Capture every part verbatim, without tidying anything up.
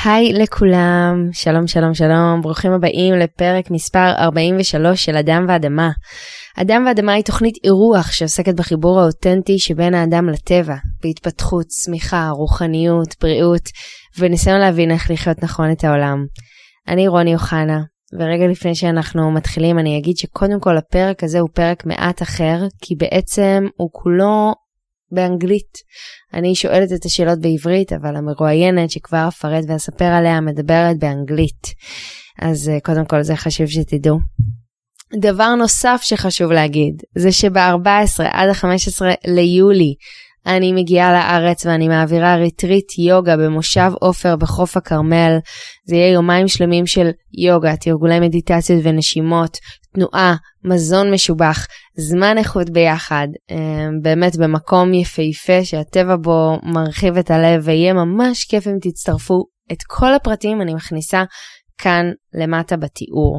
היי לכולם, שלום שלום שלום, ברוכים הבאים לפרק מספר ארבעים ושלוש של אדם ואדמה. אדם ואדמה היא תוכנית אירוח שעוסקת בחיבור האותנטי שבין האדם לטבע, בהתפתחות, צמיחה, רוחניות, בריאות, וניסיון להבין איך לחיות נכון את העולם. אני רוני אוחנה, ורגע לפני שאנחנו מתחילים אני אגיד שקודם כל הפרק הזה הוא פרק מעט אחר, כי בעצם הוא כולו באנגלית. אני שואלת את השאלות בעברית, אבל המרואיינת שכבר אפרט ואספר עליה מדברת באנגלית. אז קודם כל זה חשוב שתדעו. דבר נוסף שחשוב להגיד, זה שב-ארבעה עשר עד ה-חמישה עשר ליולי, אני מגיעה לארץ ואני מעבירה ריטריט יוגה במושב עופר בחוף הכרמל. זה יהיה יומיים שלמים של יוגה, תרגולי מדיטציות ונשימות, תנועה, מזון משובח, זמן איכות ביחד, באמת במקום יפהפה שהטבע בו מרחיב את הלב, ויהיה ממש כיף אם תצטרפו. את כל הפרטים אני מכניסה כאן למטה בתיאור.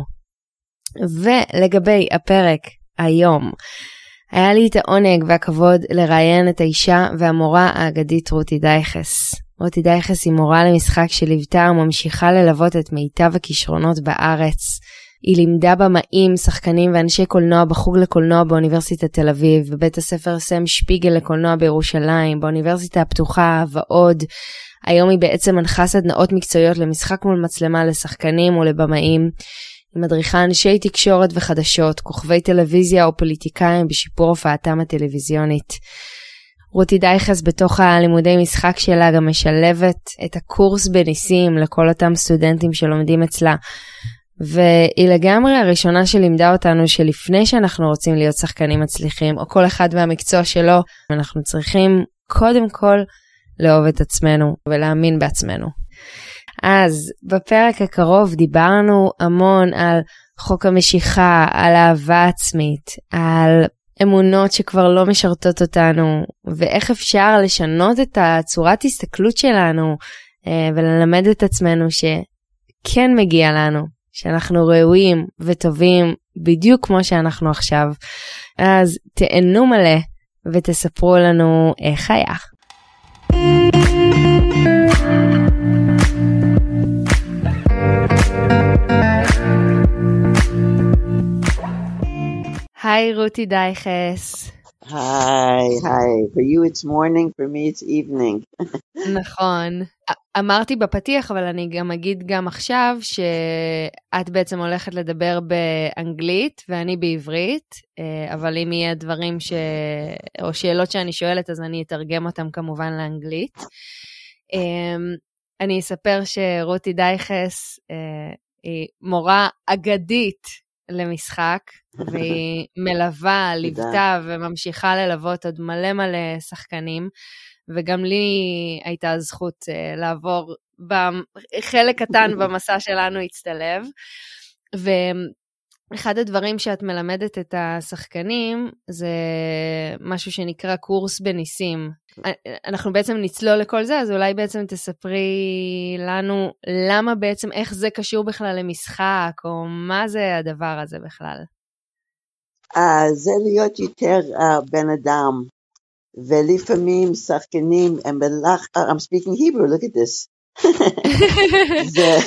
ולגבי הפרק היום, היה לי את העונג והכבוד לראיין את האישה והמורה האגדית רותי דייכס. רותי דייכס היא מורה למשחק שליוותה וממשיכה ללוות את מיטב הכישרונות בארץ. היא לימדה במאים, שחקנים ואנשי קולנוע בחוג לקולנוע באוניברסיטת תל אביב, בבית הספר סם שפיגל לקולנוע בירושלים, באוניברסיטה הפתוחה ועוד. היום היא בעצם מנחה סדנאות מקצועיות למשחק מול מצלמה לשחקנים ולבמאים. היא מדריכה אנשי תקשורת וחדשות, כוכבי טלוויזיה או פוליטיקאים בשיפור הופעתם הטלוויזיונית. רותי דייכס בתוך הלימודי משחק שלה גם משלבת את הקורס בניסים לכל אותם סטודנטים שלומדים אצלה. והיא לגמרי הראשונה שלימדה אותנו שלפני שאנחנו רוצים להיות שחקנים מצליחים, או כל אחד והמקצוע שלו, אנחנו צריכים קודם כל לאהוב את עצמנו ולהאמין בעצמנו. אז בפרק הקרוב דיברנו המון על חוק המשיכה, על אהבה עצמית, על אמונות שכבר לא משרתות אותנו, ואיך אפשר לשנות את הצורת הסתכלות שלנו, וללמד את עצמנו שכן מגיע לנו, שאנחנו ראויים וטובים בדיוק כמו שאנחנו עכשיו. אז תהנו מלא ותספרו לנו איך היה. היי רותי דייכס. היי, היי. For you it's morning, for me it's evening. נכון. אמרתי בפתיח, אבל אני גם אגיד גם עכשיו, שאת בעצם הולכת לדבר באנגלית, ואני בעברית, אבל אם יהיה דברים ש... או שאלות שאני שואלת, אז אני אתרגם אותם כמובן לאנגלית. אני אספר שרותי דייכס היא מורה אגדית למשחק, והיא מלווה, ליוותה וממשיכה ללוות עוד מלא מלא שחקנים, וגם לי הייתה זכות uh, לעבור בחלק קטן במסע שלנו הצטלב, ואחד הדברים שאת מלמדת את השחקנים, זה משהו שנקרא קורס בניסים. אנחנו בעצם נצלול לכל זה, אז אולי בעצם תספרי לנו למה בעצם, איך זה קשור בכלל למשחק, או מה זה הדבר הזה בכלל? Uh, זה להיות יותר uh, בן אדם, ולפעמים שחקנים הם בלח... Uh, I'm speaking Hebrew, look at this. the,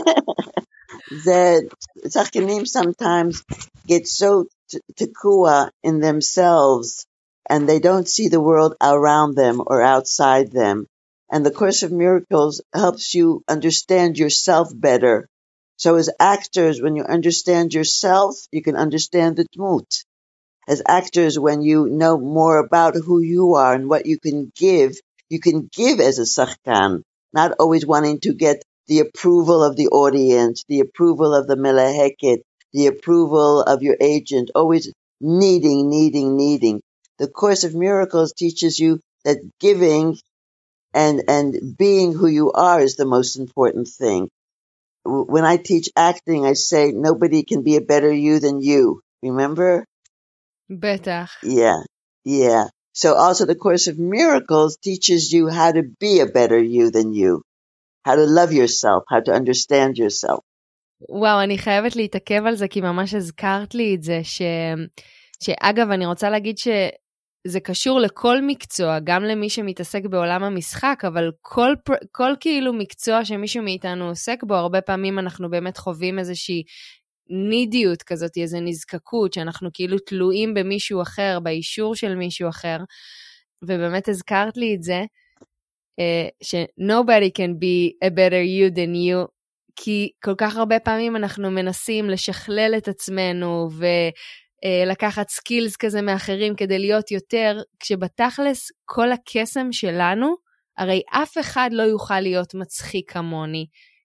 the שחקנים sometimes get so תקוע in themselves, and they don't see the world around them or outside them. And the Course of Miracles helps you understand yourself better. So as actors, when you understand yourself, you can understand the dmut. As actors, when you know more about who you are and what you can give, you can give as a sachkan, not always wanting to get the approval of the audience, the approval of the melaheket, the approval of your agent, always needing, needing, needing. The Course of Miracles teaches you that giving and, and being who you are is the most important thing. When I teach acting, I say nobody can be a better you than you. Remember? Betach. Yeah, yeah. So also the Course of Miracles teaches you how to be a better you than you. How to love yourself, how to understand yourself. וואו, אני חייבת להתעכב על זה, כי ממש הזכרת לי את זה, ש... שאגב, אני רוצה להגיד ש... זה קשור לכל מקצוע, גם למי שמתעסק בעולם המשחק, אבל כל, כל כאילו מקצוע שמישהו מאיתנו עוסק בו, הרבה פעמים אנחנו באמת חווים איזושהי נידיות כזאת, איזו נזקקות, שאנחנו כאילו תלויים במישהו אחר, באישור של מישהו אחר, ובאמת הזכרת לי את זה, ש- nobody can be a better you than you, כי כל כך הרבה פעמים אנחנו מנסים לשכלל את עצמנו, ולקחת סקילס כזה מאחרים כדי להיות יותר, כשבתכלס כל הקסם שלנו, הרי אף אחד לא יוכל להיות מצחיק כמוני,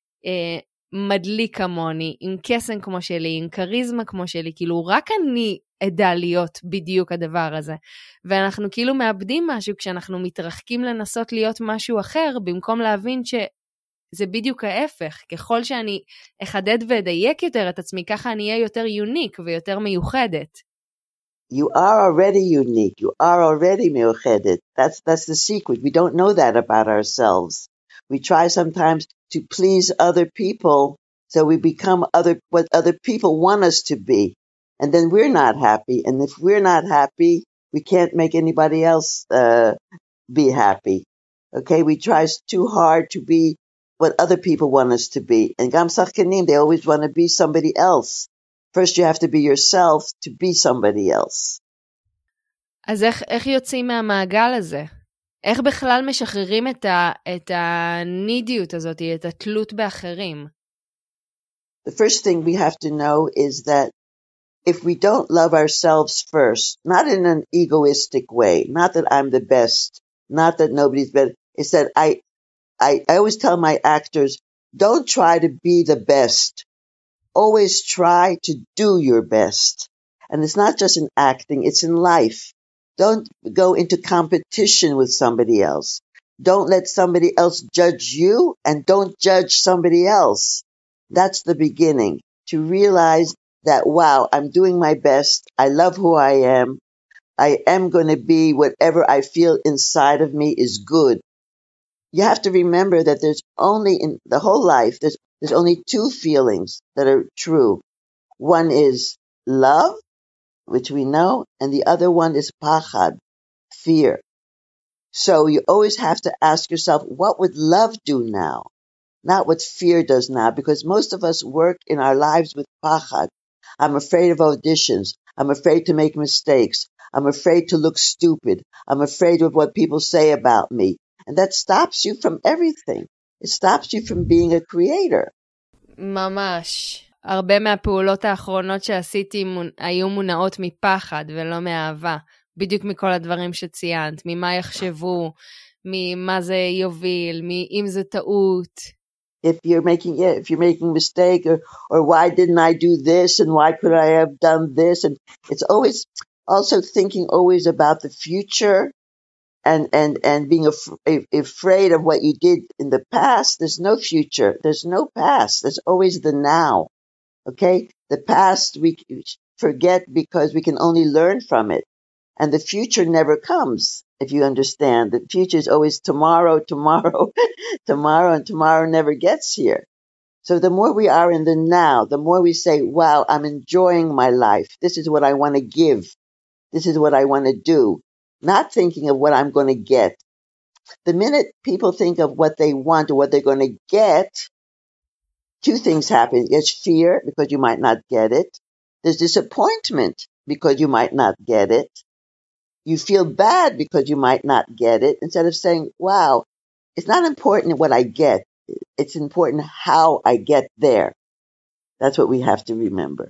מדליק כמוני, עם קסם כמו שלי, עם קריזמה כמו שלי, כאילו רק אני אדע להיות בדיוק הדבר הזה. ואנחנו כאילו מאבדים משהו כשאנחנו מתרחקים לנסות להיות משהו אחר, במקום להבין שזה בדיוק ההפך. ככל שאני אחדד ואדייק יותר את עצמי, ככה אני אהיה יותר יוניק ויותר מיוחדת. You are already unique. You are already מיוחדת. That's, that's the secret. We don't know that about ourselves. We try sometimes to please other people, so we become other what other people want us to be. And then we're not happy. And if we're not happy, we can't make anybody else uh, be happy. Okay? We try too hard to be what other people want us to be. And Gam Sachkanim, they always want to be somebody else. First, you have to be yourself to be somebody else. אז איך, איך יוצאים מהמעגל הזה? איך בכלל משחררים את, ה, את הנידיות הזאת, את התלות באחרים? The first thing we have to know is that if we don't love ourselves first, not in an egoistic way, not that I'm the best, not that nobody's better, it's that I, I, I always tell my actors, don't try to be the best. Always try to do your best. And it's not just in acting, it's in life. Don't go into competition with somebody else. Don't let somebody else judge you, and don't judge somebody else. That's the beginning. To realize that, wow, I'm doing my best. I love who I am. I am going to be whatever I feel inside of me is good. You have to remember that there's only in the whole life, there's, there's only two feelings that are true. One is love, which we know, and the other one is pachad, fear. So you always have to ask yourself, what would love do now? Not what fear does now, because most of us work in our lives with pachad. I'm afraid of auditions. I'm afraid to make mistakes. I'm afraid to look stupid. I'm afraid of what people say about me. And that stops you from everything. It stops you from being a creator. ממש. הרבה מהפעולות האחרונות שעשיתי היו מונעות מפחד ולא מאהבה. בדיוק מכל הדברים שציינת. ממה יחשבו, ממה זה יוביל, אם זה טעות. If you're making, yeah, if you're making a mistake, or, or why didn't I do this, and why could I have done this? And it's always also thinking always about the future, and and and being af- afraid of what you did in the past. There's no future. There's no past. There's always the now. Okay, the past we forget because we can only learn from it, and the future never comes. If you understand, the future is always tomorrow, tomorrow, tomorrow, and tomorrow never gets here. So the more we are in the now, the more we say, wow, I'm enjoying my life. This is what I want to give. This is what I want to do. Not thinking of what I'm going to get. The minute people think of what they want or what they're going to get, two things happen. There's fear because you might not get it. There's disappointment because you might not get it. You feel bad because you might not get it, instead of saying, wow, it's not important what I get. It's important how I get there. That's what we have to remember.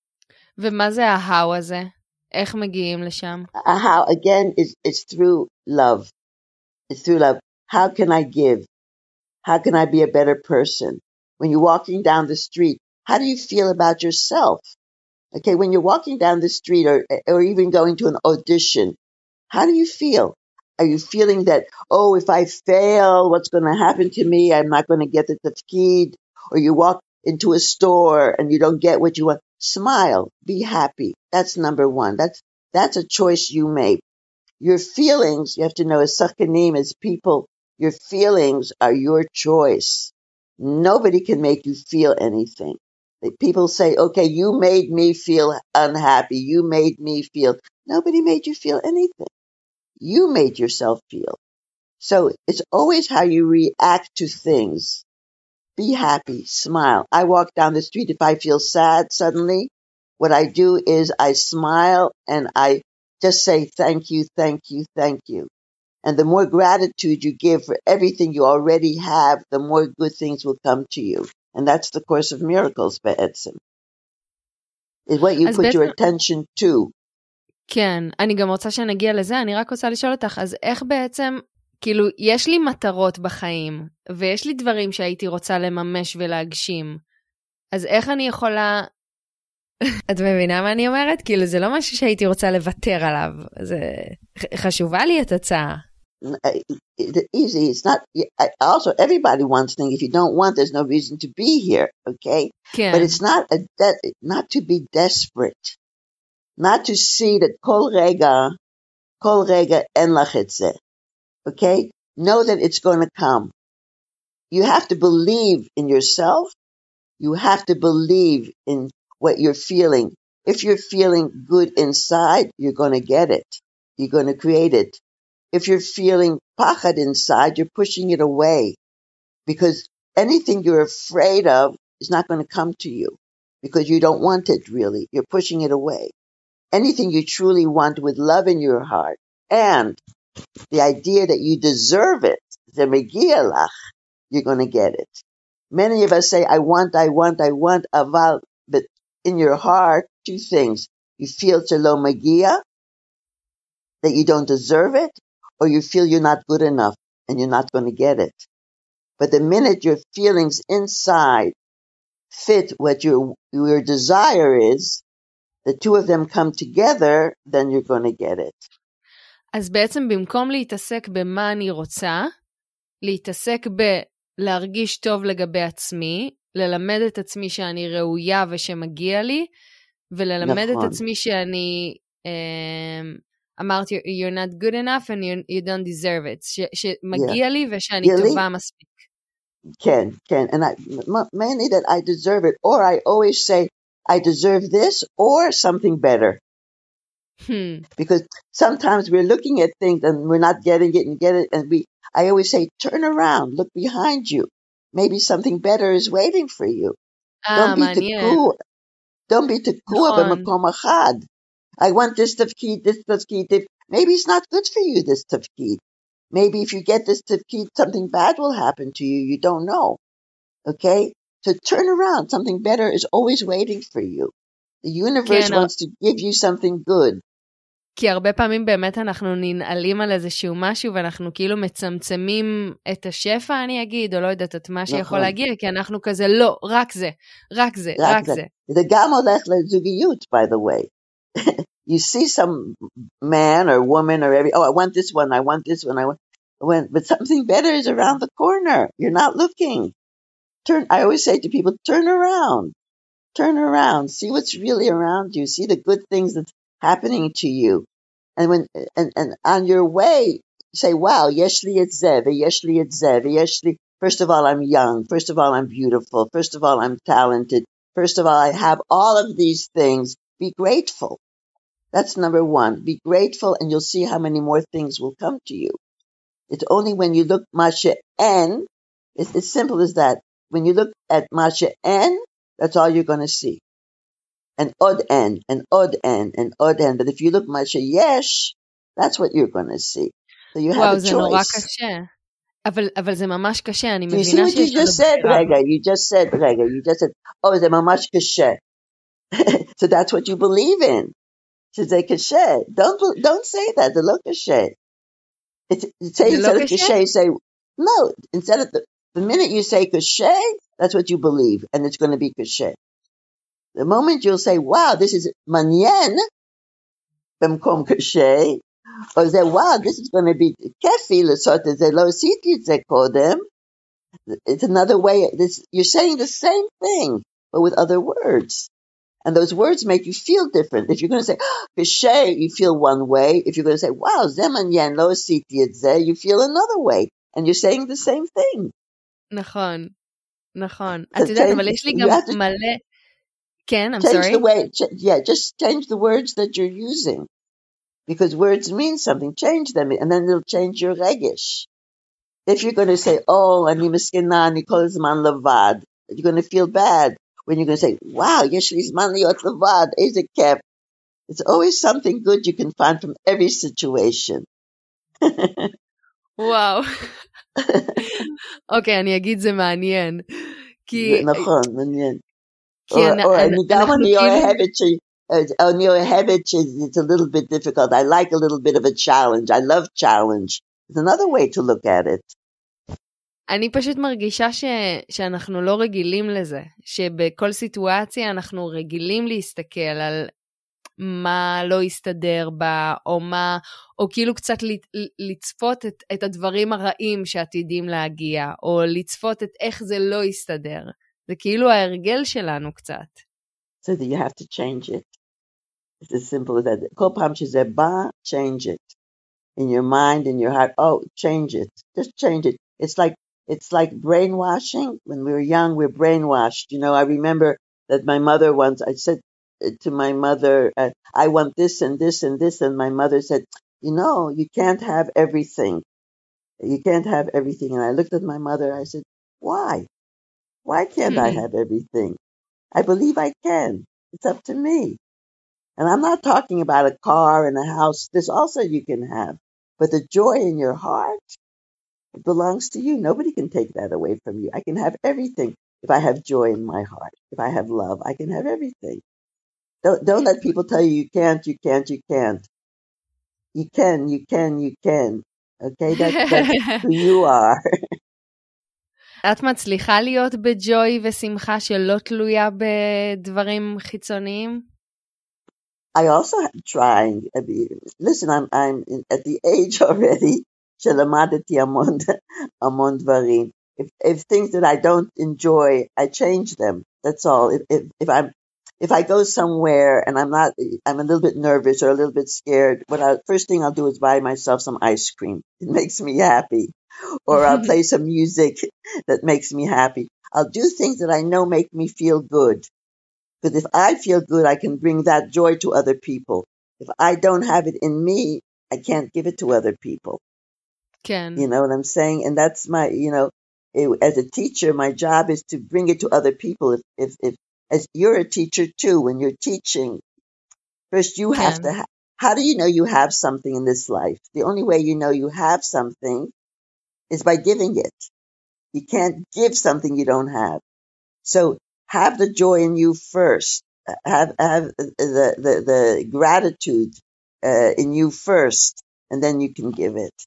ומה זה ההאו הזה? איך מגיעים לשם? How, again, is it's through love. It's through love. How can I give? How can I be a better person? When you're walking down the street, how do you feel about yourself? Okay, when you're walking down the street or or even going to an audition, how do you feel? Are you feeling that, oh, if I fail, what's going to happen to me? I'm not going to get the tafkid. Or you walk into a store and you don't get what you want. Smile. Be happy. That's number one. That's that's a choice you make. Your feelings, you have to know, as sakanim, as people, your feelings are your choice. Nobody can make you feel anything. People say, okay, you made me feel unhappy. You made me feel. Nobody made you feel anything. You made yourself feel. So it's always how you react to things. Be happy, smile. I walk down the street. If I feel sad suddenly, what I do is I smile and I just say thank you, thank you, thank you. And the more gratitude you give for everything you already have, the more good things will come to you. And that's the Course of Miracles, בעצם. Is what you put your attention to. כן, אני גם רוצה שנגיע לזה, אני רק רוצה לשאול אותך, אז איך בעצם, כאילו, יש לי מטרות בחיים, ויש לי דברים שהייתי רוצה לממש ולהגשים, אז איך אני יכולה, את מבינה מה אני אומרת? כאילו, זה לא משהו שהייתי רוצה לוותר עליו, זה חשובה לי את הצעה. It's easy, it's not, also everybody wants things, if you don't want, there's no reason to be here, okay? כן. But it's not, a de- not to be desperate. Not to see that kol rega, kol rega en lach et ze. Okay? Know that it's going to come. You have to believe in yourself. You have to believe in what you're feeling. If you're feeling good inside, you're going to get it. You're going to create it. If you're feeling pachad inside, you're pushing it away. Because anything you're afraid of is not going to come to you. Because you don't want it really. You're pushing it away. Anything you truly want with love in your heart and the idea that you deserve it, you're going to get it. Many of us say, I want, I want, I want, aval, but in your heart, two things. You feel shelo magia, that you don't deserve it, or you feel you're not good enough and you're not going to get it. But the minute your feelings inside fit what your, your desire is, the two of them come together, then you're going to get it. אז בעצם במקום להתעסק במה אני רוצה, להתעסק בלהרגיש טוב לגבי עצמי, ללמד את עצמי שאני ראויה ושמגיע לי, וללמד נכון. את עצמי שאני, אמרתי, you're not good enough and you, you don't deserve it, ש, שמגיע yeah. לי ושאני really? טובה מספיק. כן, כן, and I, mainly that I deserve it, or I always say, I deserve this or something better. Hmm. Because sometimes we're looking at things and we're not getting it and get it. And we, I always say, turn around, look behind you. Maybe something better is waiting for you. Ah, don't be tekua. Don't be tekua b'makom achad. I want this tafkid, this tafkid. Maybe it's not good for you, this tafkid. Maybe if you get this tafkid, something bad will happen to you. You don't know. Okay? So turn around. Something better is always waiting for you. The universe wants to give you something good. כי הרבה פעמים באמת אנחנו ננעלים על איזשהו משהו, ואנחנו כאילו מצמצמים את השפע, אני אגיד, או לא יודעת את מה שיכול להגיע, כי אנחנו כזה, לא, רק זה, רק זה, רק זה. זה גם הולך לזוגיות, by the way. You see some man or woman or every, oh, I want this one, I want this one, I want, when, but something better is around the corner. You're not looking. Turn. I always say to people, turn around. Turn around. See what's really around you. See the good things that's happening to you. And when and, and on your way, say, wow, yeshli et zev, yeshli et zev, yeshli. First of all, I'm young. First of all, I'm beautiful. First of all, I'm talented. First of all, I have all of these things. Be grateful. That's number one. Be grateful, and you'll see how many more things will come to you. It's only when you look masha en. It's as simple as that. When you look at masha en, that's all you're going to see. An odd en, an odd en, an odd en. But if you look masha yesh, that's what you're going to see. So you have a choice. וואו, זה נורא קשה. אבל, אבל זה ממש קשה, אני מבינה שיש לנו בחירה. You see what you just said, רגע, you just said, רגע, you just said, oh, זה ממש קשה. So that's what you believe in. שזה קשה. Don't, don't say that, זה לא קשה. It's, say instead of קשה, say, no, instead of the, the minute you say קשה, that's what you believe, and it's going to be קשה. The moment you'll say, wow, this is מעניין, במקום קשה, or say, wow, this is going to be כיפי, לעשות את זה, לא עשיתי את זה קודם. It's another way. This, you're saying the same thing, but with other words. And those words make you feel different. If you're going to say, קשה, you feel one way. If you're going to say, wow, זה מעניין, לא עשיתי את זה, you feel another way. And you're saying the same thing. נכון, נכון. את יודעת, אבל יש לי גם מלא... כן, I'm change sorry. The way, ch- yeah, just change the words that you're using. because words mean something. Change them, and then it'll change your regesh. If you're going to say, oh, אני מסכנה, אני כל הזמן לבד, you're going to feel bad. When you're going to say, wow, יש לי זמן להיות לבד, איזה כיף. It's always something good you can find from every situation. וואו. אוקיי, אני אגיד זה מעניין. כי... נכון, מעניין. כי אני גם אני אוהבת ש... אני אוהבת ש... It's a little bit difficult. I like a little bit of a challenge. I love challenge. It's another way to look at it. אני פשוט מרגישה ש... שאנחנו לא רגילים לזה. שבכל סיטואציה אנחנו רגילים להסתכל על מה לא יסתדר בה, או מה, או כאילו קצת לצפות את, את הדברים הרעים שעתידים להגיע, או לצפות את איך זה לא יסתדר. זה כאילו ההרגל שלנו קצת. So that you have to change it. It's as simple as that. כל פעם שזה בא, change it. In your mind, in your heart, oh, change it. Just change it. It's like, it's like brainwashing. When we were young, we're brainwashed. You know, I remember that my mother once, I said to my mother, uh, I want this and this and this, and my mother said, you know, you can't have everything. You can't have everything. And I looked at my mother, I said, why? Why can't I have everything? I believe I can. It's up to me. And I'm not talking about a car and a house. This also you can have. But the joy in your heart, it belongs to you. Nobody can take that away from you. I can have everything. If I have joy in my heart, if I have love, I can have everything. Don't, don't let people tell you you can't, you can't, you can't. You can, you can, you can. Okay? That's, that's who you are. את מצליחה להיות בג'וי ושמחה שלא תלויה בדברים חיצוניים? I also am trying. I mean, listen, I'm, I'm in, at the age already שלמדתי המון, המון דברים. If, if things that I don't enjoy, I change them. That's all. If, if, if I'm If I go somewhere and I'm not, I'm a little bit nervous or a little bit scared, what I, first thing I'll do is buy myself some ice cream. It makes me happy. Or I'll play some music that makes me happy. I'll do things that I know make me feel good. Because if I feel good, I can bring that joy to other people. If I don't have it in me, I can't give it to other people. Can. You know what I'm saying? And that's my, you know, it, as a teacher, my job is to bring it to other people. If, if, if, As you're a teacher too, when you're teaching, first you have Can. to, ha- how do you know you have something in this life? The only way you know you have something is by giving it. You can't give something you don't have. So have the joy in you first. Have, have the, the, the gratitude uh, in you first, and then you can give it.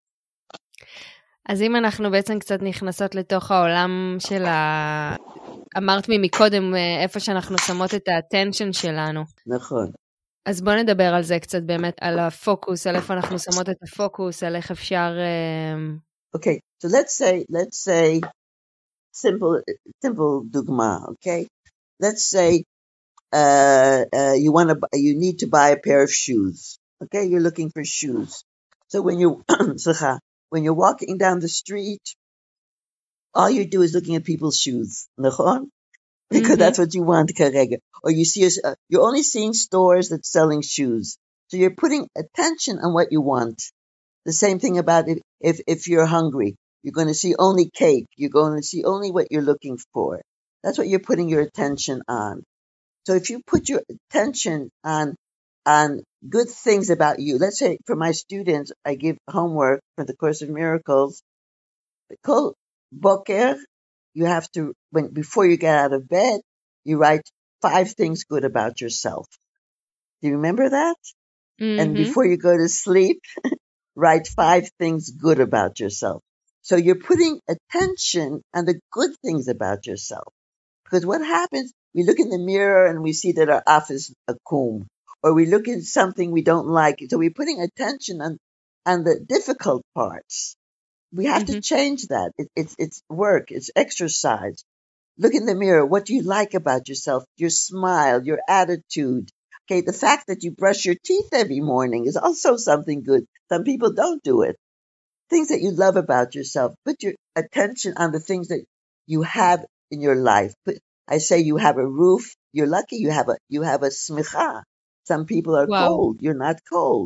אז אם אנחנו בעצם קצת נכנסות לתוך העולם של ה... אמרת לי מקודם איפה שאנחנו שמות את האטנשן שלנו. נכון. אז בוא נדבר על זה קצת באמת, על הפוקוס, על איפה אנחנו שמות את הפוקוס, על איך אפשר... Okay, so let's say, let's say, simple, simple דוגמה, okay? Let's say uh, uh, you want to, you need to buy a pair of shoes, okay? You're looking for shoes. So when you, when you're walking down the street, all you do is looking at people's shoes, נכון? Because mm-hmm. that's what you want, כרגע. Or you see, uh, you're only seeing stores that's selling shoes. So you're putting attention on what you want. The same thing about if, if, if you're hungry, you're going to see only cake. You're going to see only what you're looking for. That's what you're putting your attention on. So if you put your attention on, on good things about you, let's say for my students, I give homework for the Course of Miracles. Kol Boker, you have to, when before you get out of bed, you write five things good about yourself. Do you remember that? Mm-hmm. And before you go to sleep, write five things good about yourself. So you're putting attention on the good things about yourself. Because what happens, we look in the mirror and we see that our office is a comb, or we look at something we don't like. So we're putting attention on, on the difficult parts. We have mm-hmm. to change that. It, it's, it's work. It's exercise. Look in the mirror. What do you like about yourself? Your smile, your attitude. Okay. The fact that you brush your teeth every morning is also something good. Some people don't do it. Things that you love about yourself. Put your attention on the things that you have in your life. Put, I say you have a roof. You're lucky you have a, you have a smicha. Some people are wow. cold. You're not cold.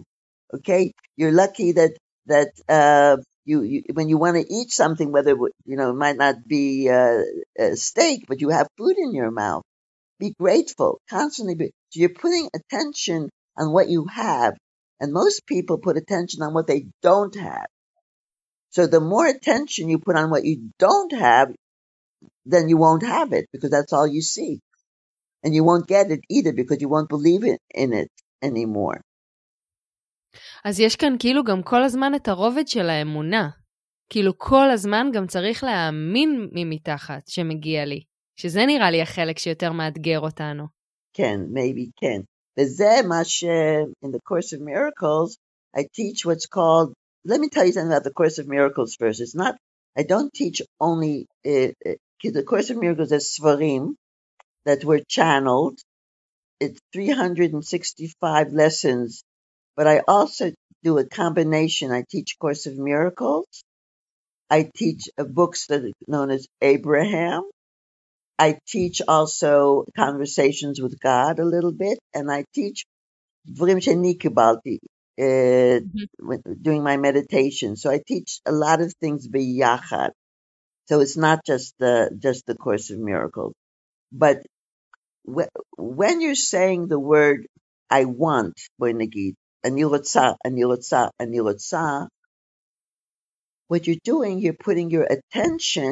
Okay, you're lucky that that uh, you, you when you want to eat something, whether you know it might not be uh, a steak, but you have food in your mouth. Be grateful, constantly be. So you're putting attention on what you have, and most people put attention on what they don't have. So the more attention you put on what you don't have, then you won't have it because that's all you see. And you won't get it either because you won't believe in, in it anymore. אז יש כאן כאילו גם כל הזמן את הרובד של האמונה. כאילו כל הזמן גם צריך להאמין ממתחת שמגיע לי. שזה נראה לי החלק שיותר מאתגר אותנו. כן, maybe כן. וזה מה ש... in the Course of Miracles, I teach what's called... Let me tell you something about the Course of Miracles first. It's not... I don't teach only... Uh, uh, the Course of Miracles is Svarim that were channeled. It's three hundred sixty-five lessons. But I also do a combination. I teach Course of Miracles. I teach uh, books that are known as Abraham. I teach also conversations with God a little bit, and I teach Dvarim Sheni Kibalti uh, doing my meditation. So I teach a lot of things biyachad. So it's not just the just the Course of Miracles. But wh- when you're saying the word "I want," boy nagid, ani rotza, ani rotza, ani rotza, what you're doing, you're putting your attention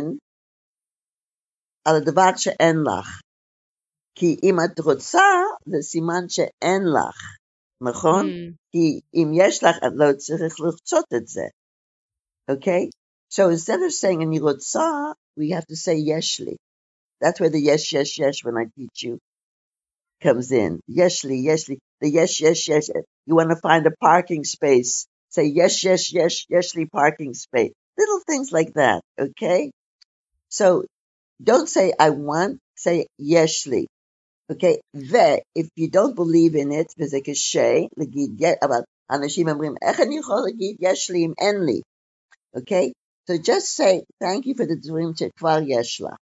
על הדבר שאין לך. כי אם את רוצה, זה סימן שאין לך, נכון? Mm. כי אם יש לך, את לא צריך לרצות את זה. Okay? So instead of saying אני רוצה, we have to say יש לי. That's where the yes, yes, yes, when I teach you, comes in. יש לי, יש לי. The yes, yes, yes. You want to find a parking space. Say yes, yes, yes, yes לי parking space. Little things like that, okay? So, don't say I want, say יש לי. Okay? ו-if you don't believe in it, וזה קשה, להגיד, אבל אנשים אומרים, איך אני יכול להגיד יש לי אם אין לי? Okay? So just say, thank you for the דברים שכבר יש לך.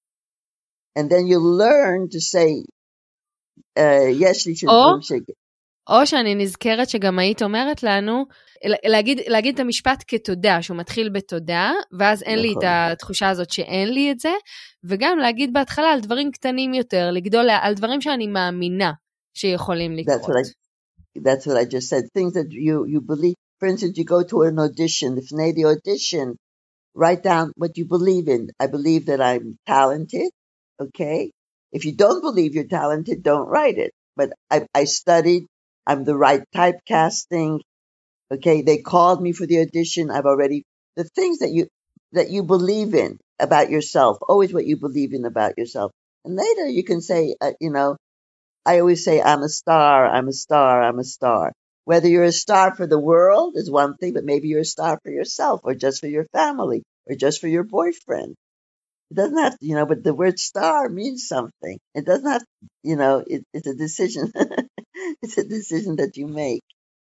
And then you learn to say, uh, יש לי של דברים ש... או שאני נזכרת שגם היית אומרת לנו, להגיד, להגיד את המשפט כתודה, שהוא מתחיל בתודה, ואז אין לי את התחושה הזאת שאין לי את זה, וגם להגיד בהתחלה על דברים קטנים יותר, לגדול על דברים שאני מאמינה שיכולים לקרות. That's what I, that's what I just said. Things that you, you believe. For instance, you go to an audition. If you the audition, write down what you believe in. I believe that I'm talented. Okay? If you don't believe you're talented, don't write it. But I, I studied. I'm the right typecasting. Okay, they called me for the audition. I've already, the things that you, that you believe in about yourself, always what you believe in about yourself. And later you can say, uh, you know, I always say, I'm a star, I'm a star, I'm a star. Whether you're a star for the world is one thing, but maybe you're a star for yourself or just for your family or just for your boyfriend. It doesn't have to, you know, but the word star means something. It doesn't have, you know, it, it's a decision. It's a decision that you make.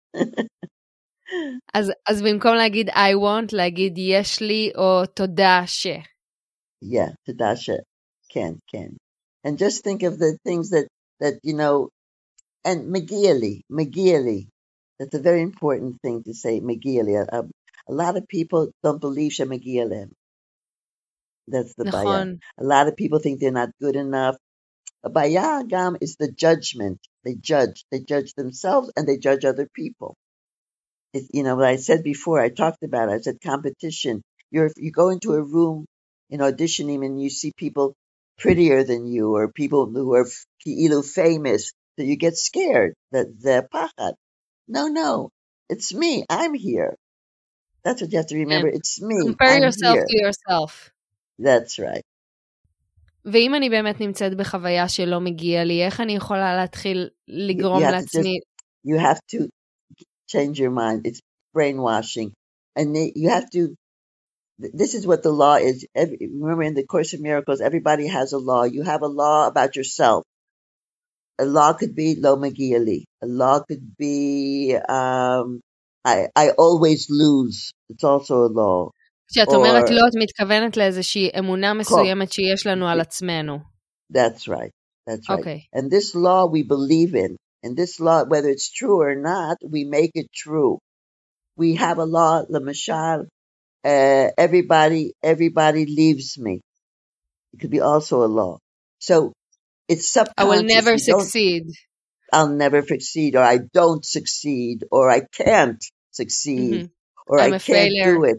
אז, אז במקום להגיד I want, להגיד יש לי או תודה ש. Yeah, תודה ש. כן, כן. And just think of the things that, that you know, and מגיע לי, מגיע לי. That's a very important thing to say, מגיע לי. A, a lot of people don't believe שמגיע להם. That's the נכון. בעיה. A lot of people think they're not good enough. הבעיה גם is the judgment. They judge. They judge themselves and they judge other people. It, you know, what I said before, I talked about it. I said competition. You're, you go into a room in auditioning and you see people prettier than you or people who are ki'ilu famous, so you get scared. That the pachad. No, no, it's me. I'm here. That's what you have to remember. Yeah. It's me. Compare I'm yourself here. to yourself. That's right. ואם אני באמת נמצאת בחוויה שלא מגיע לי, איך אני יכולה להתחיל לגרום לעצמי? You have to change your mind. It's brainwashing. And you have to, this is what the law is. Every, remember in the Course of Miracles, everybody has a law. You have a law about yourself. A law could be lo magia li. A law could be, um, I, I always lose. It's also a law. כשאת אומרת לא, את מתכוונת לאיזושהי אמונה מסוימת שיש לנו על עצמנו. That's right. That's right. Okay. And this law we believe in. And this law, whether it's true or not, we make it true. We have a law, לממשל, uh, everybody, everybody leaves me. It could be also a law. So it's subconscious. I will never succeed. I'll never succeed, or I don't succeed, or I can't succeed, mm-hmm. or I'm I a can't failure. do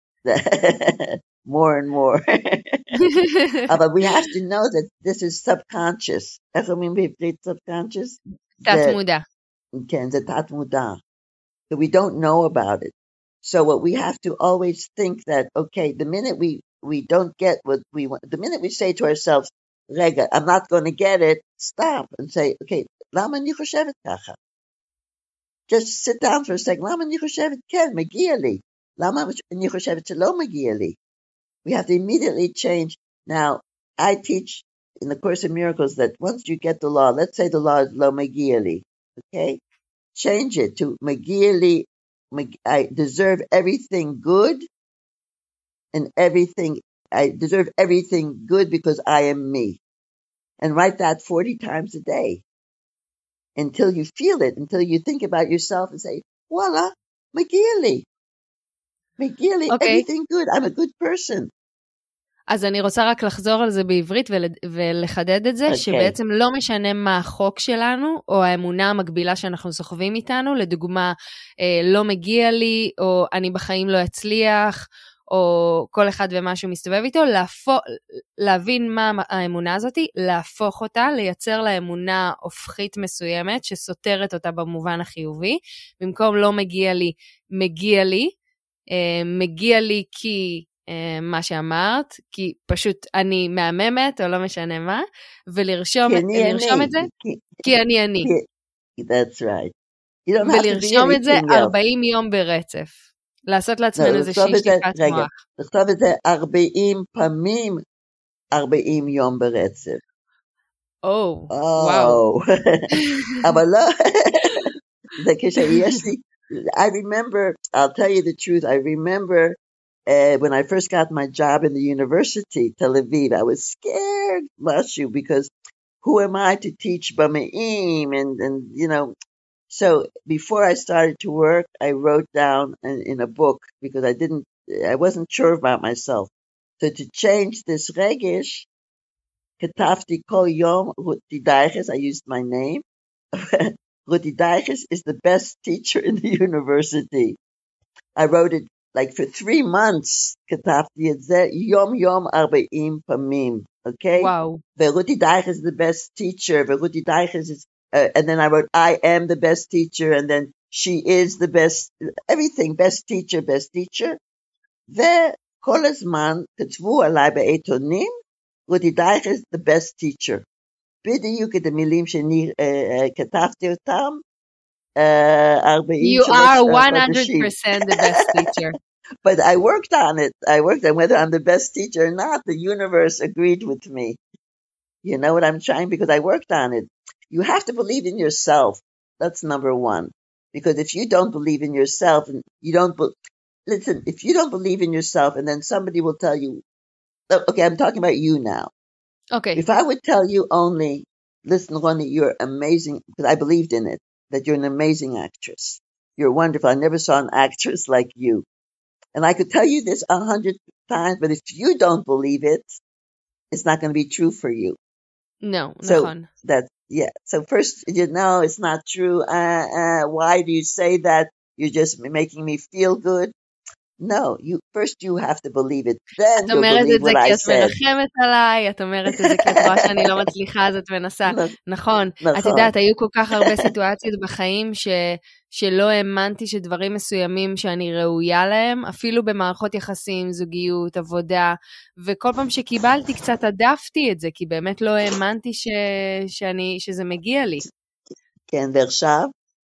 it. More and more. uh, but we have to know that this is subconscious. איך אומרים בעברית subconscious? תת מודע. כן, זה תת מודע. So we don't know about it. So what we have to always think that, okay, the minute we, we don't get what we want, the minute we say to ourselves, רגע, I'm not going to get it, stop and say, okay, למה אני חושבת ככה? Just sit down for a second. למה אני חושבת כן, מגיע לי? למה אני חושבת שלא מגיע לי? We have to immediately change. Now, I teach in the Course in Miracles that once you get the law, let's say the law is lo מגיע לי, okay? Change it to מגיע לי, I deserve everything good and everything, I deserve everything good because I am me. And write that forty times a day until you feel it, until you think about yourself and say, voila, מגיע לי. מגיע לי, okay. everything good, I'm a good person. אז אני רוצה רק לחזור על זה בעברית ולחדד את זה, okay. שבעצם לא משנה מה החוק שלנו, או האמונה המקבילה שאנחנו סוחבים איתנו, לדוגמה, לא מגיע לי, או אני בחיים לא אצליח, או כל אחד ומה שהוא מסתובב איתו, להפוך, להבין מה האמונה הזאת, להפוך אותה, לייצר לה אמונה הופכית מסוימת, שסותרת אותה במובן החיובי, במקום לא מגיע לי, מגיע לי, מגיע לי כי מה שאמרת, כי פשוט אני מהממת, או לא משנה מה, ולרשום לרשום את זה, כי אני אני. That's right. ולרשום את זה ארבעים יום ברצף. לעשות לעצמנו איזושהי שטיפת מוח. לכתוב את זה ארבעים פעמים, ארבעים יום ברצף. או, וואו. אבל לא, זה כשיש לי, I remember, I'll tell you the truth, I remember uh, when I first got my job in the university, Tel Aviv, I was scared, Mashu, because who am I to teach Bama'im and, and, you know, so before I started to work, I wrote down in, in a book because I didn't, I wasn't sure about myself. So to change this regesh, Ketafti Kol Yom Ruti Daiches, I used my name. Ruti Daiches is the best teacher in the university. I wrote it like for three months. Ketafti et zeh Yom Yom Arbaim Pamim. Okay? Wow. Ruti Daiches is the best teacher. Ruti Daiches is Uh, and then I wrote, I am the best teacher, and then she is the best, everything, best teacher, best teacher. וכל הזמן כתבו עליי בעיתונים, רותי דייכס is the best teacher. בדיוק את המילים שאני uh, כתבתי אותם, uh, ארבעים You are one hundred percent the best teacher. But I worked on it. I worked on whether I'm the best teacher or not. The universe agreed with me. You know what I'm trying? Because I worked on it. You have to believe in yourself. That's number one. Because if you don't believe in yourself, and you don't, be- listen, if you don't believe in yourself, and then somebody will tell you, okay, I'm talking about you now. Okay. If I would tell you only, listen, Ronnie, you're amazing, because I believed in it, that you're an amazing actress. You're wonderful. I never saw an actress like you. And I could tell you this a hundred times, but if you don't believe it, it's not going to be true for you. No, so no. that yeah. So first, you know, it's not true. Uh, uh, why do you say that? You're just making me feel good. No, you first you have to believe it. Then you'll believe what I said. את אומרת את זה כי את מרחמת עליי, את אומרת את זה כי את רואה שאני לא מצליחה, אז את מנסה. נכון. את יודעת, היו כל כך הרבה סיטואציות בחיים ש... שלא האמנתי שדברים מסוימים שאני ראויה להם, אפילו במערכות יחסים, זוגיות, עבודה, וכל פעם שקיבלתי קצת עדפתי את זה, כי באמת לא האמנתי ש... שאני... שזה מגיע לי. כן, ועכשיו?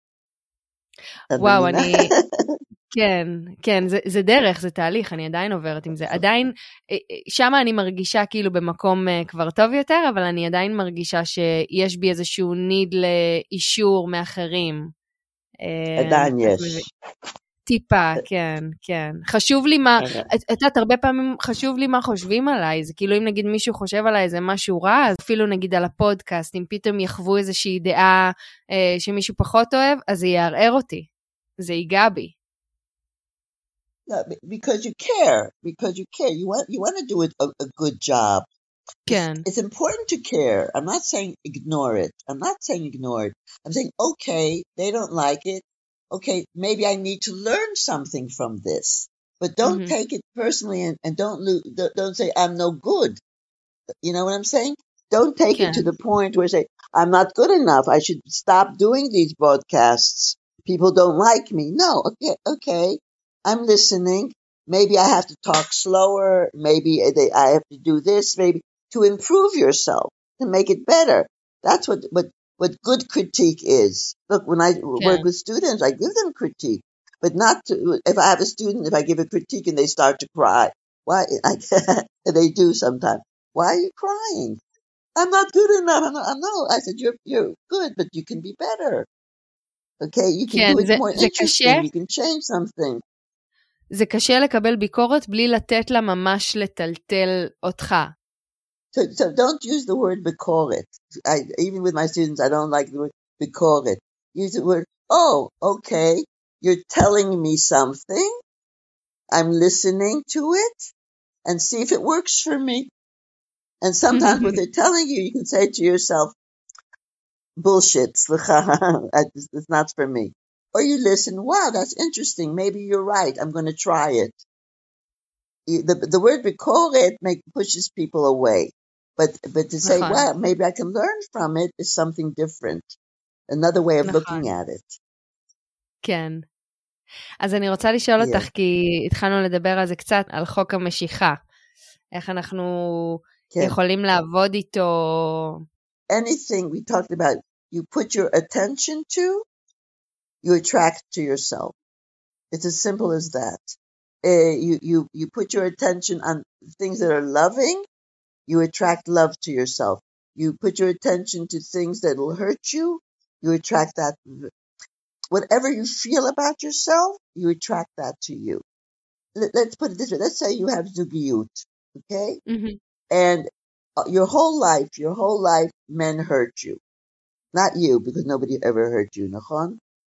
וואו, אני... כן, כן, זה, זה דרך, זה תהליך, אני עדיין עוברת עם זה. עדיין, שמה אני מרגישה כאילו במקום כבר טוב יותר, אבל אני עדיין מרגישה שיש בי איזשהו ניד לאישור מאחרים. עדיין יש. טיפה, כן, כן. חשוב לי מה, את יודעת, הרבה פעמים חשוב לי מה חושבים עליי, זה כאילו אם נגיד מישהו חושב עליי איזה משהו רע, אז אפילו נגיד על הפודקאסט, אם פתאום יחוו איזושהי דעה אה, שמישהו פחות אוהב, אז זה יערער אותי, זה ייגע בי. No, because you care, because you care. You want, you want to do it a, a good job. כן. It's, it's important to care. I'm not saying ignore it. I'm not saying ignore it. I'm saying, okay, they don't like it. Okay, maybe I need to learn something from this. But don't Mm-hmm. take it personally and, and don't, lo- don't don't say I'm no good. You know what I'm saying? Don't take כן. it to the point where say I'm not good enough. I should stop doing these broadcasts. People don't like me. No, okay, okay. I'm listening. Maybe I have to talk slower. Maybe they, I have to do this. Maybe to improve yourself, to make it better. That's what what what good critique is. Look, when I כן. work with students, I give them critique, but not to, if I have a student, if I give a critique and they start to cry, why? I, they do sometimes. Why are you crying? I'm not good enough. I'm not, I'm no. I said you're you're good, but you can be better. Okay, you can כן, do it זה, more זה interesting. קשה, You can change something. זה קשה לקבל ביקורת בלי לתת לה ממש לטלטל אותך. So, so don't use the word bikoret. I, even with my students, I don't like the word bikoret. Use the word, oh, okay, you're telling me something. I'm listening to it and see if it works for me. And sometimes what they're telling you, you can say to yourself, bullshit, it's not for me. Or you listen, wow, that's interesting. Maybe you're right. I'm going to try it. The, the word bikoret make, pushes people away. But but to say, נכון. well, maybe I can learn from it is something different. Another way of נכון. looking at it. כן. אז אני רוצה לשאול Yeah. אותך, כי התחלנו לדבר על זה קצת, על חוק המשיכה. איך אנחנו כן. יכולים לעבוד איתו. Anything we talked about, you put your attention to, you attract to yourself. It's as simple as that. Uh, you, you, you put your attention on things that are loving, you attract love to yourself. You put your attention to things that will hurt you, you attract that. Whatever you feel about yourself, you attract that to you. Let, let's put it this way. Let's say you have zugiyut, okay? Mm-hmm. And uh, your whole life, your whole life, men hurt you. Not you, because nobody ever hurt you, nachon?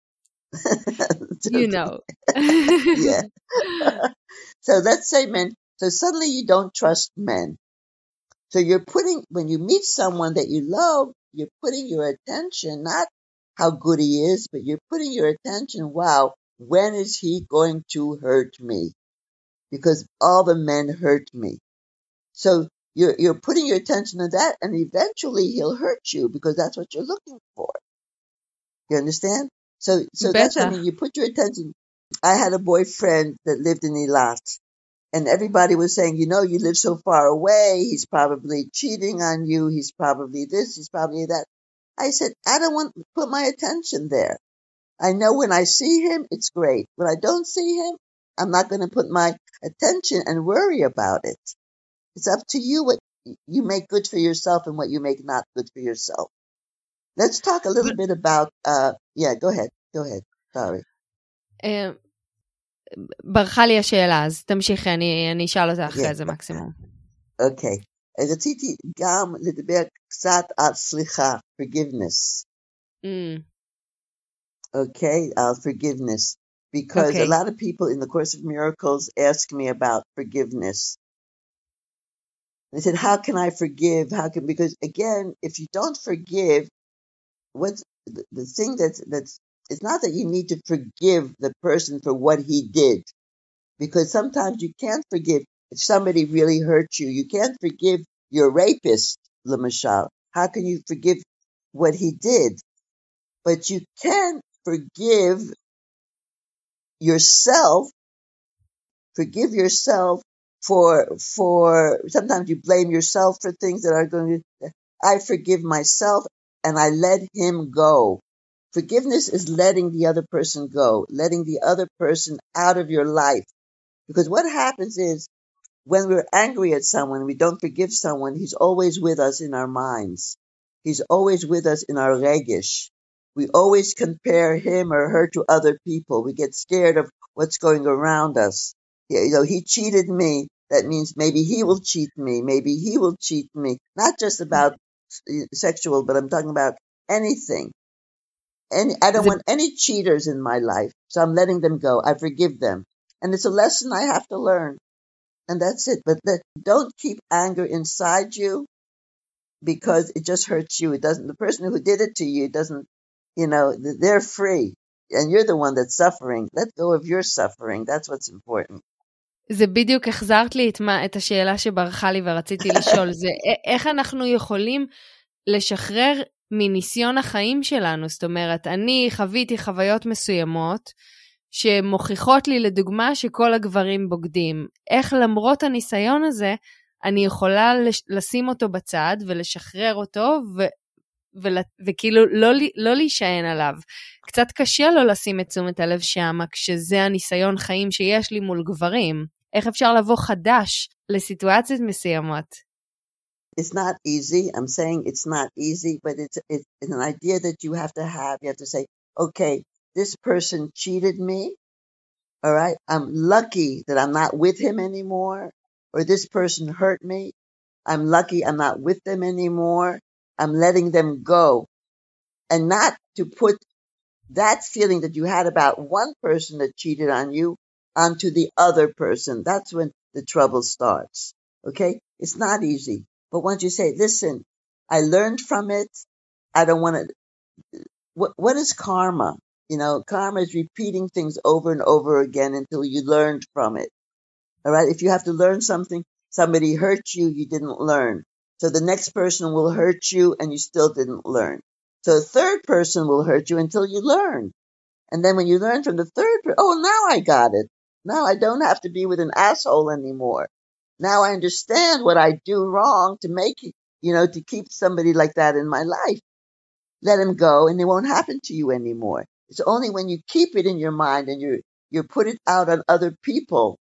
You know. Yeah. So let's say men, so suddenly you don't trust men. So you're putting, when you meet someone that you love, you're putting your attention, not how good he is, but you're putting your attention, wow, when is he going to hurt me? Because all the men hurt me. So you're, you're putting your attention on that, and eventually he'll hurt you because that's what you're looking for. You understand? So, so that's what I mean. You put your attention. I had a boyfriend that lived in Eilat, and everybody was saying, you know, you live so far away. He's probably cheating on you. He's probably this. He's probably that. I said, I don't want to put my attention there. I know when I see him, it's great. When I don't see him, I'm not going to put my attention and worry about it. It's up to you what you make good for yourself and what you make not good for yourself. Let's talk a little bit about, uh, yeah, go ahead. Go ahead. Sorry. ברכה לי השאלה, אז תמשיכי, אני, אני אשאל אותה אחרי זה מקסימום. אוקיי. רציתי גם לדבר קצת על סליחה, forgiveness. Mm. Okay, uh, forgiveness. Because okay. a lot of people in the Course of Miracles ask me about forgiveness. They said, how can I forgive? How can, because again, if you don't forgive, what's the, the thing that's, that's, it's not that you need to forgive the person for what he did. Because sometimes you can't forgive if somebody really hurt you. You can't forgive your rapist, Lemashal. How can you forgive what he did? But you can forgive yourself, forgive yourself for, for, sometimes you blame yourself for things that are going to, I forgive myself and I let him go. Forgiveness is letting the other person go, letting the other person out of your life. Because what happens is when we're angry at someone, we don't forgive someone, he's always with us in our minds. He's always with us in our regesh. We always compare him or her to other people. We get scared of what's going around us. You know, he cheated me. That means maybe he will cheat me. Maybe he will cheat me. Not just about sexual, but I'm talking about anything. Any, I don't זה, want any cheaters in my life, so I'm letting them go. I forgive them. And it's a lesson I have to learn. And that's it. But the, don't keep anger inside you because it just hurts you. It doesn't, the person who did it to you doesn't, you know, they're free. And you're the one that's suffering. Let go of your suffering. That's what's important. זה בדיוק החזרת לי את, מה, את השאלה שברחה לי ורציתי לשאול. זה איך אנחנו יכולים לשחרר מניסיון החיים שלנו. זאת אומרת, אני חוויתי חוויות מסוימות שמוכיחות לי לדוגמה שכל הגברים בוגדים. איך למרות הניסיון הזה, אני יכולה לשים אותו בצד ולשחרר אותו ו... וכאילו לא, לא להישען עליו. קצת קשה לו לשים את תשומת הלב שם, כשזה הניסיון חיים שיש לי מול גברים. איך אפשר לבוא חדש לסיטואציות מסוימות? It's not easy. I'm saying it's not easy, but it's, it's an idea that you have to have. You have to say, okay, this person cheated me. All right. I'm lucky that I'm not with him anymore. Or this person hurt me. I'm lucky I'm not with them anymore. I'm letting them go. And not to put that feeling that you had about one person that cheated on you onto the other person. That's when the trouble starts. Okay? It's not easy. But once you say, listen, I learned from it. I don't want to. What, what is karma? You know, karma is repeating things over and over again until you learned from it. All right? If you have to learn something, somebody hurt you, you didn't learn. So the next person will hurt you and you still didn't learn. So a third person will hurt you until you learn. And then when you learn from the third person, oh, now I got it. Now I don't have to be with an asshole anymore. Now I understand what I do wrong to make, you know, to keep somebody like that in my life. Let him go and it won't happen to you anymore. It's only when you keep it in your mind and you you put it out on other people,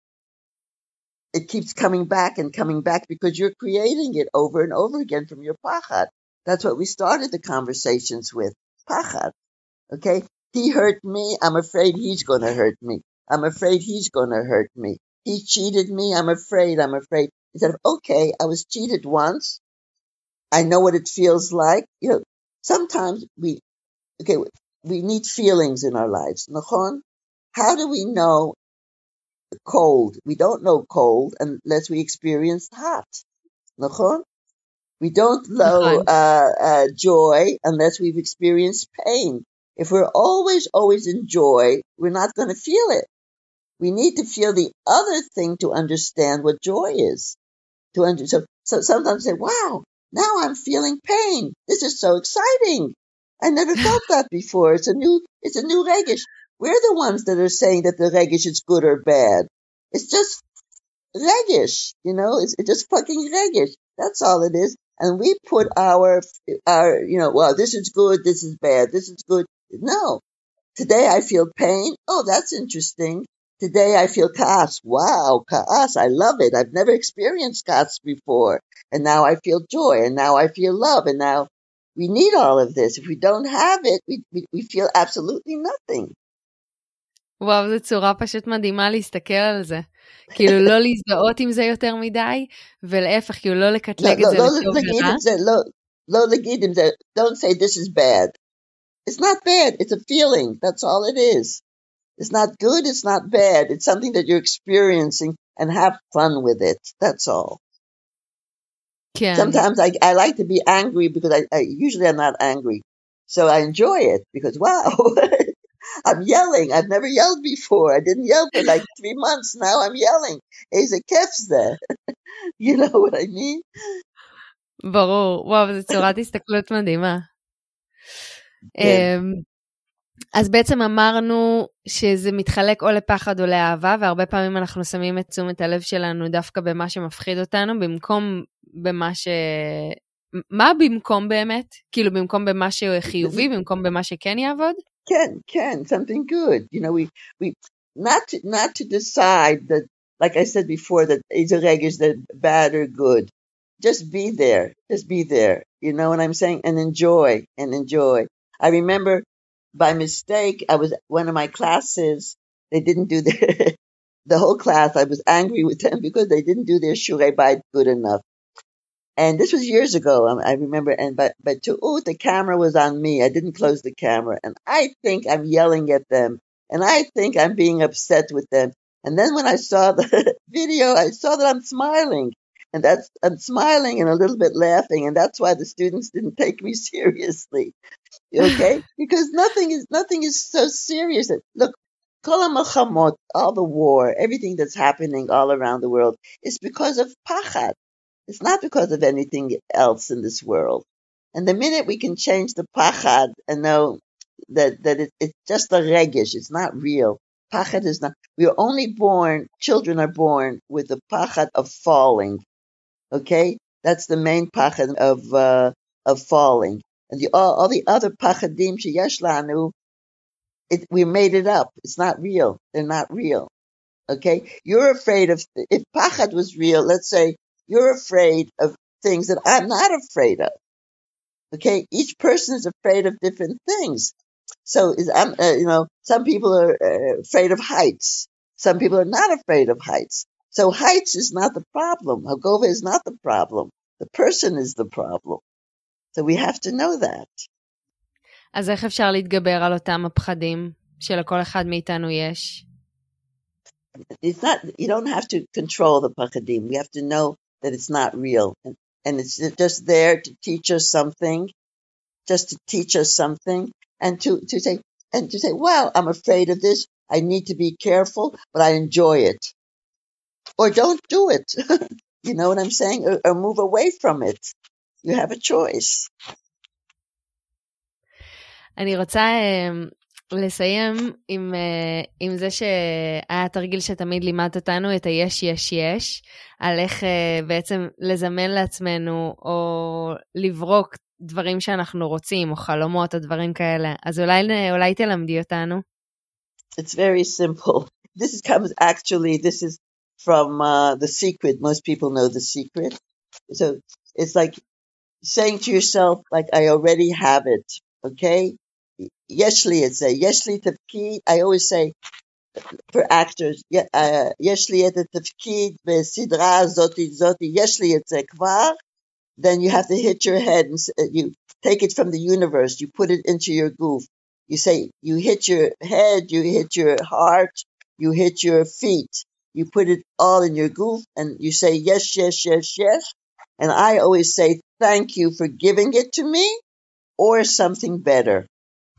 it keeps coming back and coming back because you're creating it over and over again from your pachad. That's what we started the conversations with. Pachad. Okay? He hurt me. I'm afraid he's going to hurt me. I'm afraid he's going to hurt me. He cheated me. I'm afraid. I'm afraid. Instead of, okay, I was cheated once. I know what it feels like. You know, sometimes we, okay, we need feelings in our lives. Nachon? How do we know cold? We don't know cold unless we experience hot. Nachon? We don't know uh, uh, joy unless we've experienced pain. If we're always, always in joy, we're not going to feel it. We need to feel the other thing to understand what joy is. To under- so, so sometimes say, wow, now I'm feeling pain. This is so exciting. I never felt that before. It's a new, it's a new regish. We're the ones that are saying that the regish is good or bad. It's just regish, you know, it's, it's just fucking regish. That's all it is. And we put our, our, you know, well, this is good, this is bad, this is good. No. Today I feel pain. Oh, that's interesting. Today I feel kaas. Wow, kaas. I love it. I've never experienced kaas before. And now I feel joy. And now I feel love. And now we need all of this. If we don't have it, we, we, we feel absolutely nothing. וואו, זו צורה פשוט מדהימה להסתכל על זה. כאילו לא להזדהות עם זה יותר מדי, ולהפך, כאילו לא לקטלג את זה לטוב ורע. לא להגיד עם זה, don't say this is bad. It's not bad. It's a feeling. That's all it is. It's not good. It's not bad. It's something that you're experiencing and have fun with it. That's all. כן. Sometimes I, I like to be angry because I, I usually I'm not angry. So I enjoy it because, wow, I'm yelling. I've never yelled before. I didn't yell for like three months. Now I'm yelling. Ize kef's there. You know what I mean? ברור. וואו, זו צורת הסתכלות מדהימה. אז בעצם אמרנו שזה מתחלק או לפחד או לאהבה, והרבה פעמים אנחנו שמים את תשומת הלב שלנו דווקא במה שמפחיד אותנו, במקום במה ש... מה במקום באמת? כאילו במקום במה שחיובי, במקום במה שכן יעבוד? כן, כן, something good. You know, we, we, not to, not to decide that, like I said before, that either is that bad or good. Just be there. Just be there. You know what I'm saying? And enjoy, and enjoy. I remember by mistake, I was, one of my classes they didn't do their, the whole class, I was angry with them because they didn't do their Shurei Bayit good enough. And this was years ago, I remember, and but, but to, oh, the camera was on me. I didn't close the camera. And I think I'm yelling at them. And I think I'm being upset with them. And then when I saw the video, I saw that I'm smiling. And that's, I'm smiling and a little bit laughing. And that's why the students didn't take me seriously. Okay? Because nothing is, nothing is so serious. Look, Kol HaMilchamot, all the war, everything that's happening all around the world is because of pachad. It's not because of anything else in this world. And the minute we can change the pachad and know that, that it, it's just a regesh, it's not real. Pachad is not, we are only born, children are born with the pachad of falling. Okay? That's the main pachad of, uh, of falling. And the, all, all the other pachadim sheyesh lanu, it, we made it up. It's not real. They're not real. Okay? You're afraid of, if pachad was real, let's say, you're afraid of things that I'm not afraid of. Okay, each person is afraid of different things. So, is, I'm, uh, you know, some people are uh, afraid of heights. Some people are not afraid of heights. So, heights is not the problem. Hagova is not the problem. The person is the problem. So, we have to know that. אז איך אפשר להתגבר על אותם הפחדים שלכל אחד מאיתנו יש? It's not. You don't have to control the pachadim. We have to know that it's not real. And, and it's just there to teach us something, just to teach us something, and to, to say, and to say, well, I'm afraid of this. I need to be careful, but I enjoy it. Or don't do it. You know what I'm saying? Or, or move away from it. You have a choice. אני רוצה לסיים עם, עם זה שהיה תרגיל שתמיד לימד אותנו את היש יש יש, על איך בעצם לזמן לעצמנו או לברוק דברים שאנחנו רוצים, או חלומות או דברים כאלה. אז אולי, אולי תלמדי אותנו. It's very simple. This is, comes actually, this is from uh, The Secret. Most people know The Secret. So it's like saying to yourself, like, I already have it. Okay? Yesh li et zeh, yesh li tafkid. I always say for actors, yesh li et tafkid besidra zoti zoti, yesh li et zeh kvar. Then you have to hit your head and you take it from the universe. You put it into your goof. You say, you hit your head, you hit your heart, you hit your feet. You put it all in your goof and you say, yes, yes, yes, yes. And I always say, thank you for giving it to me or something better.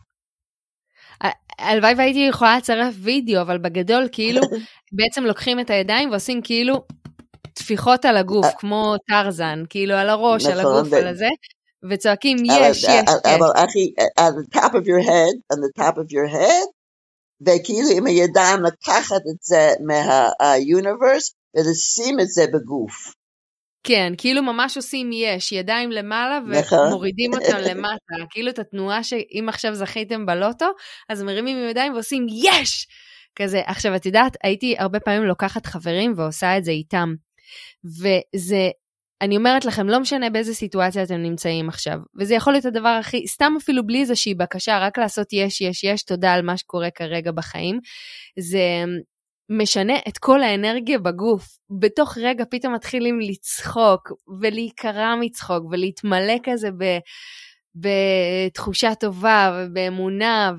הלוואי והייתי יכולה לצרף וידאו, אבל בגדול כאילו בעצם לוקחים את הידיים ועושים כאילו תפיחות על הגוף, כמו טרזן, כאילו על הראש, על הגוף, על הזה, וצועקים יש, יש, יש. אבל אחי, on the top of your head, on the top of your head, וכאילו עם הידיים לקחת את זה מה-universe, ולשים את זה בגוף. כן, כאילו ממש עושים יש, ידיים למעלה ומורידים אותם למטה, כאילו את התנועה שאם עכשיו זכיתם בלוטו, אז מרימים עם ידיים ועושים יש! כזה, עכשיו את יודעת, הייתי הרבה פעמים לוקחת חברים ועושה את זה איתם, וזה, אני אומרת לכם, לא משנה באיזה סיטואציה אתם נמצאים עכשיו, וזה יכול להיות הדבר הכי, סתם אפילו בלי איזושהי בקשה, רק לעשות יש, יש, יש, תודה על מה שקורה כרגע בחיים, זה משנה את כל האנרגיה בגוף, בתוך רגע פתאום מתחילים לצחוק, ולהיקרא מצחוק, ולהתמלא כזה ב, בתחושה טובה, ובאמונה,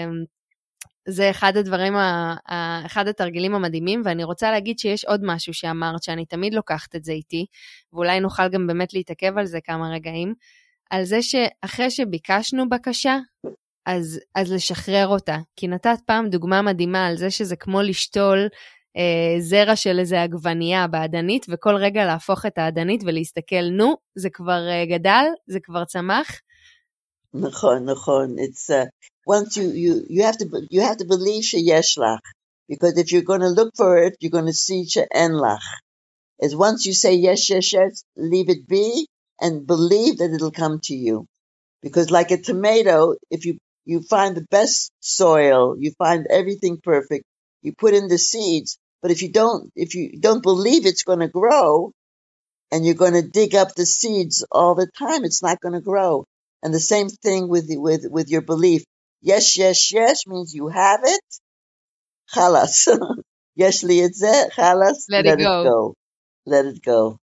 וזה אחד הדברים, אחד התרגילים המדהימים, ואני רוצה להגיד שיש עוד משהו שאמרת, שאני תמיד לוקחת את זה איתי, ואולי נוכל גם באמת להתעכב על זה כמה רגעים, על זה שאחרי שביקשנו בקשה, אז, אז לשחרר אותה. כי נתת פעם דוגמה מדהימה על זה שזה כמו לשתול אה, זרע של איזה עגבנייה בעדנית, וכל רגע להפוך את העדנית ולהסתכל, נו, זה כבר אה, גדל, זה כבר צמח. נכון, נכון. It's, uh, once you, you, you have to, you have to believe שיש לך. Because if you're going to look for it, you're going to see שאין לך. As once you say yes, yes, yes, leave it be, and believe that it'll come to you. Because like a tomato, if you You find the best soil, you find everything perfect, you put in the seeds, but if you don't, if you don't believe it's going to grow, and you're going to dig up the seeds all the time, it's not going to grow. And the same thing with, with, with your belief. Yes, yes, yes means you have it, חלאס. יש לי את זה, חלאס, let, let it go. it go. Let it go.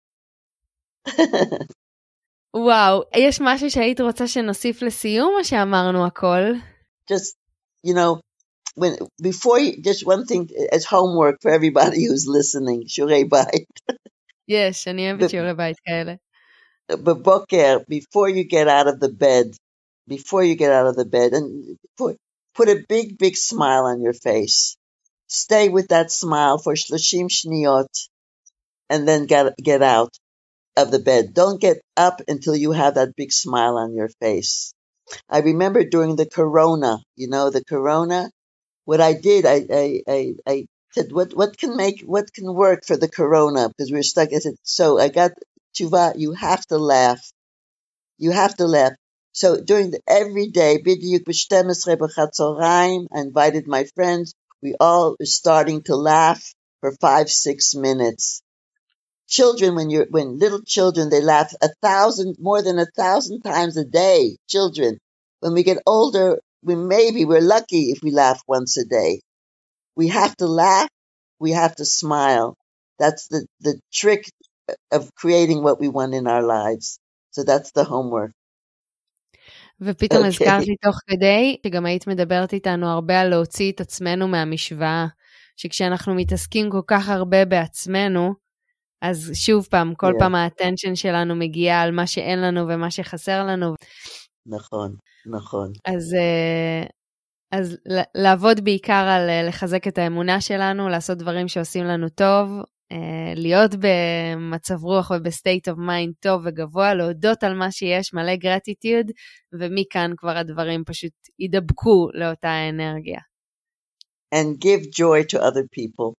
וואו, יש משהו שהיית רוצה שנוסיף לסיום, או שאמרנו הכל? Just, you know, when before you, just one thing as homework for everybody who's listening, שיעורי בית. יש, אני אוהבת שיעורי בית כאלה. בבוקר, before you get out of the bed, before you get out of the bed, and put, put a big, big smile on your face. Stay with that smile for thirty shniyot, and then get, get out of the bed. Don't get up until you have that big smile on your face. I remember during the corona, you know, the corona, what I did, I, I, I, I said, what, what can make, what can work for the corona? Because we were stuck. I said, so I got tshuva, you have to laugh. You have to laugh. So during the, every day, b'diuk b'shtem esrei b'chatzorayim, I invited my friends. We all were starting to laugh for five, six minutes. Children, when you're, when little children, they laugh a thousand, more than a thousand times a day. Children. When we get older, we maybe, we're lucky if we laugh once a day. We have to laugh. We have to smile. That's the, the trick of creating what we want in our lives. So that's the homework. ופתאום הזכרת לי תוך כדי, שגם היית מדברת איתנו הרבה על להוציא את עצמנו מהמשוואה, שכשאנחנו מתעסקים כל כך הרבה בעצמנו, אז שוב פעם, כל פעם האטנשן שלנו מגיע על מה שאין לנו ומה שחסר לנו. נכון, נכון. אז, אז לעבוד בעיקר על לחזק את האמונה שלנו, לעשות דברים שעושים לנו טוב, להיות במצב רוח ובסטייט אוף מיינד טוב וגבוה, להודות על מה שיש, מלא גרטיטיוד, ומכאן כבר הדברים פשוט ידבקו לאותה האנרגיה. And give joy to other people.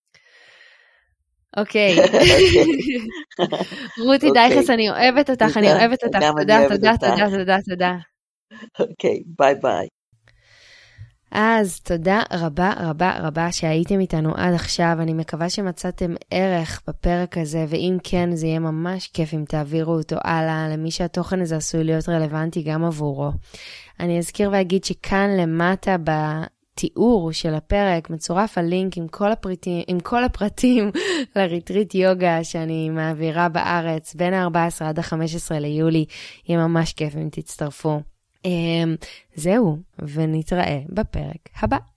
אוקיי. רותי דייכס, אני אוהבת אותך, אני אוהבת אותך. תודה, תודה, תודה, תודה, תודה. אוקיי, ביי ביי. אז תודה רבה רבה רבה שהייתם איתנו עד עכשיו. אני מקווה שמצאתם ערך בפרק הזה, ואם כן, זה יהיה ממש כיף אם תעבירו אותו הלאה למי שהתוכן הזה עשוי להיות רלוונטי גם עבורו. אני אזכיר ואגיד שכאן למטה בתיאור של הפרק מצורף הלינק עם כל הפרטים, עם כל הפרטים לריטריט יוגה שאני מעבירה בארץ בין ה-ארבעה עשר עד ה-חמישה עשר ליולי. יהיה ממש כיף אם תצטרפו. זהו, ונתראה בפרק הבא.